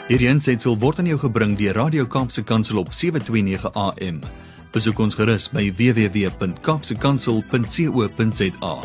Hierdie aansetsel word aan jou gebring deur Radio Kaapse Kansel op 729 AM. Besoek ons gerus by www.kapsekansel.co.za.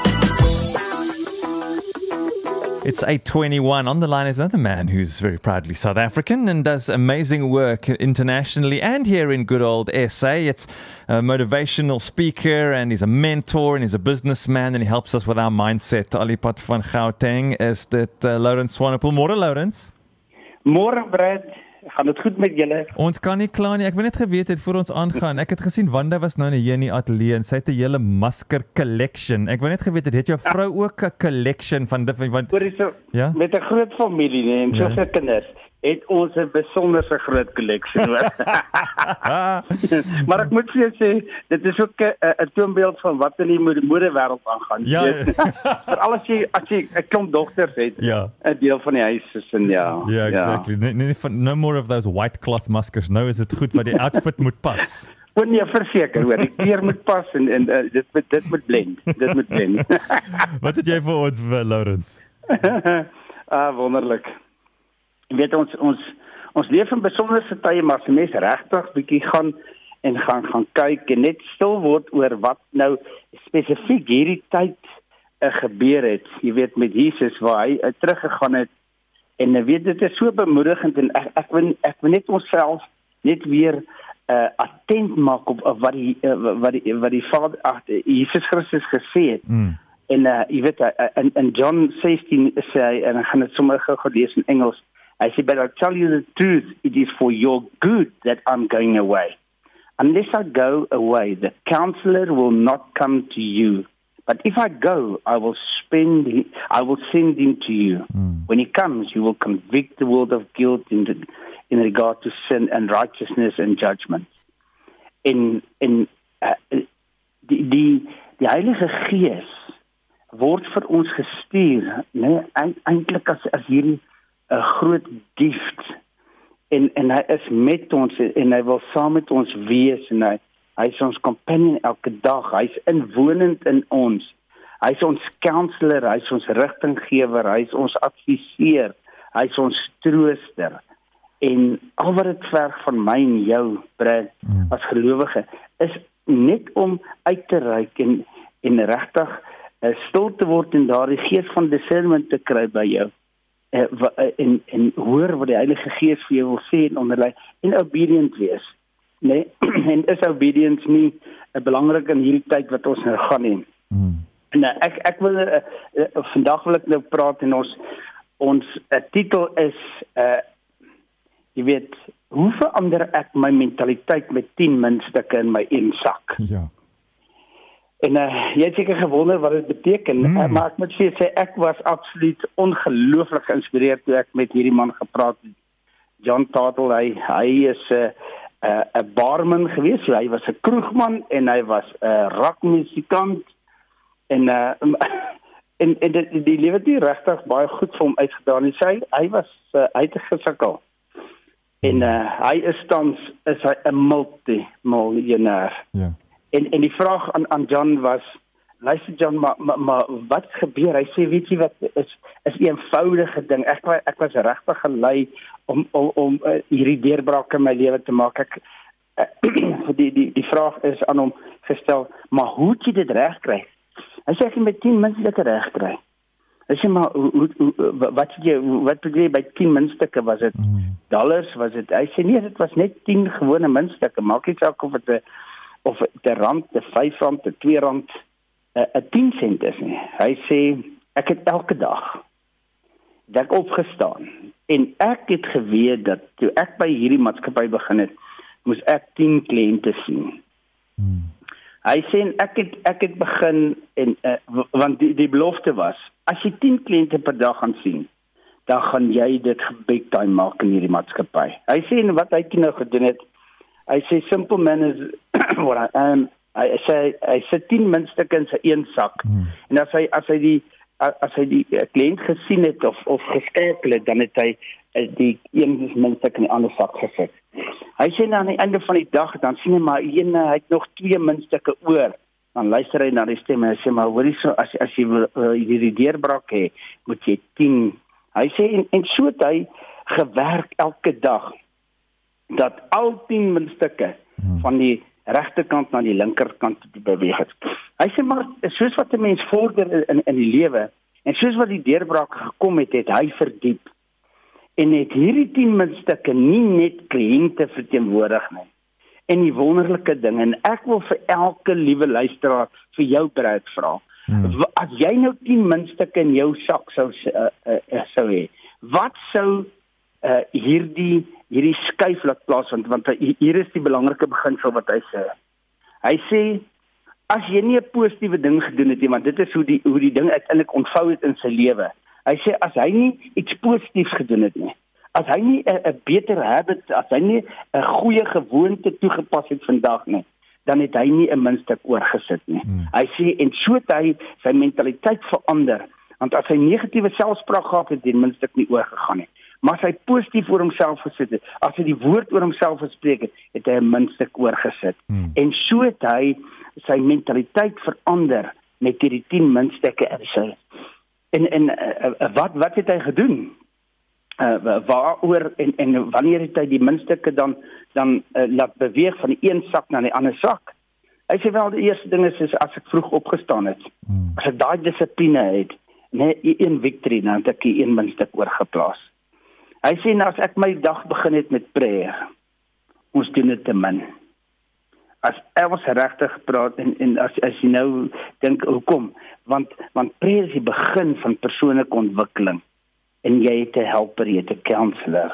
It's 8:21. On the line is another man who's very proudly South African and does amazing work internationally and here in good old SA. It's a motivational speaker and he's a mentor and he's a businessman and he helps us with our mindset. Alipad van Gauteng is dit Lawrence Swanepoel. Môre Lawrence. Môre Brad, gaan dit goed met julle? Ons kan nie kla nie. Ek wil net geweet het voor ons aangaan. Ek het gesien Wanda was nou hier in die ateljee en sy het 'n hele masker collection. Ek wil net geweet het jou vrou ook 'n collection van dit want ja? Met 'n groot familie nee, en soveel kinders het ons 'n besonderse groot collection hoor. Maar ek moet vir jou sê, dit is ook 'n toonbeeld van wat in die modewêreld aangaan. Ja. Veral as jy 'n klomp dogters het, 'n deel van die huis is en ja. Ja, exactly. No more of those white cloth maskers. Nou is dit goed wat die outfit moet pas. Nee, verseker hoor, die kleur moet pas en dit moet blend. Dit moet blend. Wat het jy vir ons, Lawrence? Wonderlik. Jy weet ons leef in besonderse tye, maar as die mens regtig bietjie gaan kyk en net stil word oor wat nou spesifiek hierdie tyd gebeur het. Jy weet met Jesus waar hy teruggegaan het en jy weet dit is so bemoedigend en ek wil net onsself net weer attent maak op wat die Vader Jesus Christus gesê het. En jy weet in John 16 sê hy en ek gaan dit sommer gou lees in Engels. I said, but I'll tell you the truth, it is for your good that I'm going away. Unless I go away, the counselor will not come to you. But if I go, I will send him to you. When he comes, he will convict the world of guilt in regard to sin and righteousness and judgment. Die Heilige Gees word vir ons gestuur, nee, eintlik as hierdie 'n groot gift en hy is met ons en hy wil saam met ons wees en hy is ons companion elke dag, hy is inwonend in ons, hy is ons counselor, hy is ons rigtinggewer, hy is ons adviseur, hy is ons trooster en al wat dit verg van my en jou, Brad, as gelowige, is net om uit te reik en regtig stil te word en daardie gees van discernment te kry by jou. En hoor wat die Heilige Gees vir jou wil sê en onderlei en obedient wees. Nee, en is obedience nie belangrik in hierdie tyd wat ons nou gaan hê. En ek wil vandag wil ek nou praat en ons titel is jy weet, hoe verander ek my mentaliteit met 10 muntstukke in my een sak? Ja. En jy het seker gewonder wat dit beteken, maar ek moet sê ek was absoluut ongelooflik geïnspireerd toe ek met hierdie man gepraat het. John Tatel, hy is 'n barman gewees, so hy was 'n kroegman en hy was 'n rockmusikant en die lewe het nie regtig baie goed vir hom uitgedaan nie. Hy het gesukkel. En hy is tans 'n multimiljonair. Ja. En die vraag aan John was, luister John, maar wat gebeur? Hy sê, weet jy wat, is 'n eenvoudige ding. Ek was regtig gelei om hierdie deurbraak in my lewe te maak. Die vraag is aan hom gestel, maar hoe het jy dit reg kry? Hy sê, ek het met 10 muntstukke reg kry. Hy sê, maar wat bedoel jy by 10 muntstukke? Was dit dollars? Hy sê, nee, dit was net 10 gewone muntstukke. Maak nie saak of het of die rand, die R5, die R2, 'n 10 sent is nie. Hy sê, ek het elke dag ek opgestaan en ek het geweet dat toe ek by hierdie maatskappy begin het, moes ek 10 kliënte sien. Hy sê, ek het begin en want die belofte was, as jy 10 kliënte per dag gaan sien, dan gaan jy dit big time maak in hierdie maatskappy. Hy sê, en wat hy nou gedoen het, hy sê, simple man is what I am. Hy sit 10 muntstukke in sy een sak. En as hy die kliënt gesien het of geskakel het, dan het hy die een muntstuk in die ander sak gesit. Hy sê aan die einde van die dag, dan sien hy maar hy het nog 2 muntstukke oor. Dan luister hy na die stem en hy sê, maar hoorie so, as jy wil hierdie deurbraak hê, moet jy 10. Hy sê, en so het hy gewerk elke dag dat al 10 muntstukke van die regterkant na die linkerkant beweeg het. Hy sê maar, soos wat 'n mens vorder in die lewe, en soos wat die deurbraak gekom het, het hy verdiep. En het hierdie 10 muntstukke nie net kliënte verteenwoordig nie. En die wonderlike ding, en ek wil vir elke liewe luisteraar vir jou Brad vra, as jy nou 10 muntstukke in jou sak sou hê, wat sou hierdie skuif laat plaasvind, want hier is die belangrike beginsel wat hy sê. Hy sê, as jy nie 'n positiewe ding gedoen het nie, want dit is hoe die ding uiteindelik ontvou het in sy lewe. Hy sê, as hy nie iets positiefs gedoen het nie, as hy nie 'n beter habit, as hy nie 'n goeie gewoonte toegepas het vandag nie, dan het hy nie 'n muntstuk oorgesit nie. Hy sê, en so het hy sy mentaliteit verander, want as hy negatiewe selfspraak gehad het, die muntstuk nie oorgegaan nie. Maar as hy positief oor homself gesit het, as hy die woord oor homself gespreek het, het hy 'n muntstuk oorgesit. En so het hy sy mentaliteit verander met hierdie 10 muntstukke in sy. En wat het hy gedoen? Waaroor en wanneer het hy die muntstukke dan laat beweeg van die een sak na die ander sak? Hy sê wel, die eerste ding is as ek vroeg opgestaan het, as ek daai dissipline het, net een victory, dan het ek die 1 muntstuk oorgeplaas. Hy sê, nou as ek my dag begin het met prayer, ons doen dit te min. As ons regtig praat, en as jy nou dink, hoekom? Want prayer is die begin van persoonlike ontwikkeling. En jy het 'n helper, jy het 'n counselor.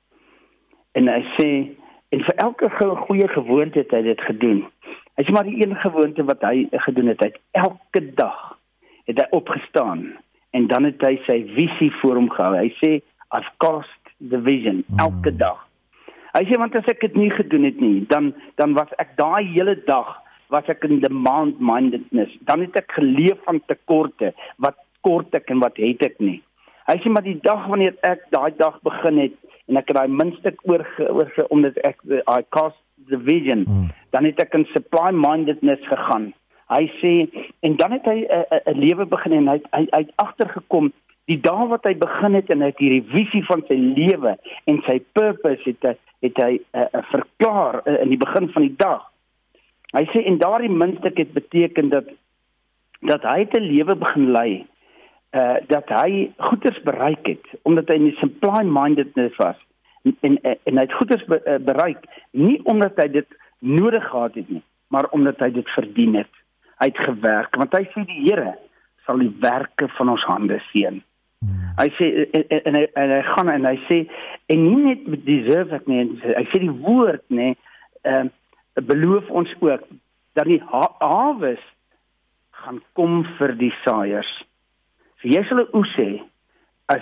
En hy sê, en vir elke goeie gewoonte het hy dit gedoen. Hy sê maar die een gewoonte wat hy gedoen het, hy het elke dag het hy opgestaan, en dan het hy sy visie voor hom gehou. Hy sê, I've cast the vision, elke dag. Hy sê, want as ek dit nie gedoen het nie, dan was ek daai hele dag, was ek in demand-mindedness. Dan het ek geleef van tekorte, wat kort ek en wat het ek nie. Hy sê, maar die dag wanneer ek daai dag begin het, en ek het daai muntstuk omdat ek, I cast the vision, dan het ek in supply-mindedness gegaan. Hy sê, en dan het hy 'n lewe begin, en hy het agtergekom, die dag wat hy begin het, en hy het hierdie visie van sy lewe, en sy purpose het hy verklaar in die begin van die dag. Hy sê, en daardie muntstuk het beteken dat hy het 'n lewe begin lei, dat hy goeders bereik het, omdat hy in die supply-mindedness was, en hy het goeders bereik, nie omdat hy dit nodig gehad het nie, maar omdat hy dit verdien het. Hy het gewerk, want hy sê die Here sal die werke van ons hande seën. Hy sê, en hy gaan en hy sê, en nie net deserve ek nie, hy sê die woord nie, beloof ons ook, dat die hawes gaan kom vir die saaiers. So jy sal 'n oes hê, as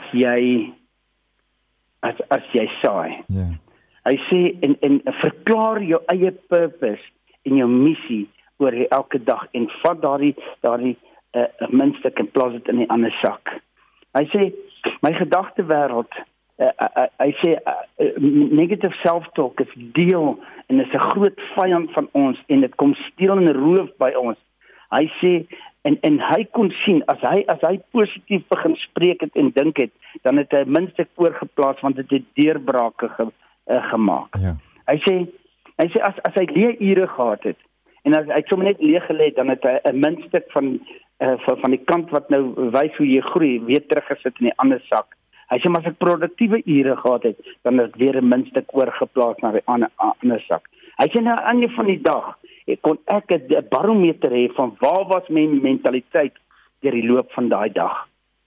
jy saai. Yeah. Hy sê, en verklaar jou eie purpose en jou missie oor elke dag, en vat daardie muntstuk en plaas dit in die ander sak. Hy sê, my gedagtewêreld, hy sê, negative self-talk is deel, en is 'n groot vyand van ons, en dit kom steel en roof by ons. Hy sê, en hy kon sien, as hy positief begin spreek het en dink het, dan het hy 'n muntstuk voorgeplaas, want dit het deurbrake gemaak. Yeah. Hy sê, as hy leerure gehad het, en as hy sommer net leeg gelê het, dan het hy 'n muntstuk van die kant wat nou wys hoe jy groei, weer teruggesit in die ander sak. Hy sê, maar as ek produktiewe ure gehad het, dan het ek weer 'n muntstuk oorgeplaas na die ander sak. Hy sê, nou aan die van die dag, kon ek 'n barometer hê van waar was my mentaliteit deur die loop van daai dag.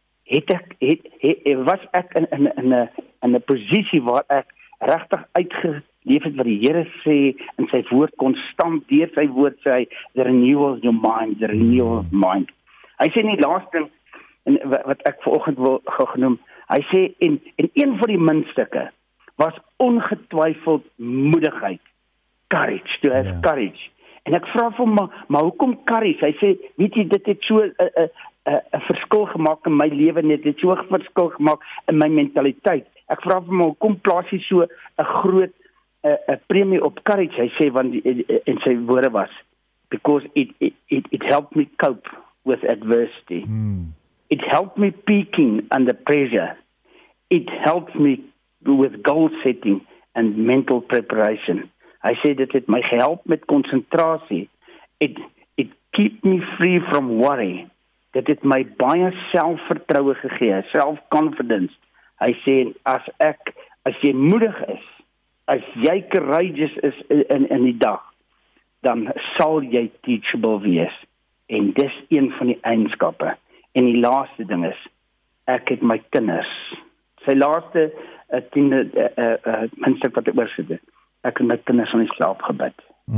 Was ek in 'n posisie waar ek regtig uitgeleef het wat die Here sê in sy woord, konstant deur sy woord sê hy, the renewal of your mind, the renewal of mind. Hy sê nie laaste, wat ek vanoggend wil genoem, hy sê, en een van die muntstukke was ongetwyfeld moedigheid, courage, to have courage. En ek vra vir hom, maar hoekom courage? Hy sê, weet jy, dit het so 'n verskil gemaak in my lewe, net het so 'n verskil gemaak in my mentaliteit. Ek vra vir hom, hoekom plaas jy so 'n groot 'n premie op courage? Hy sê, want en sy woorde was, because it helped me cope with adversity. It helped me peaking under pressure. It helped me with goal setting and mental preparation. Hy sê dit het my gehelp met konsentrasie. It keep me free from worry. Dit het my baie selfvertroue gegee, self-confidence. Hy sê as jy moedig is, as jy courageous is in die dag, dan sal jy teachable wees. En dis een van die eienskappe. En die laaste ding is, ek het my kinders. Sy laaste minste wat ek oorsit het. Ek het my kinders aan die slaap gebid.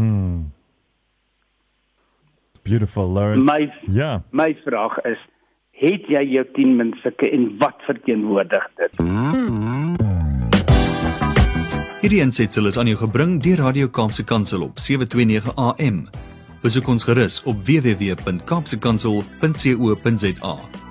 Beautiful, Lawrence. My vraag is, het jy jou 10 minstukke en wat verteenwoordig dit? Hierdie aansetsel is aan jou gebring deur Radio Kaapse Kansel op 729 AM. Besoek ons gerus op www.kaapsekansel.co.za.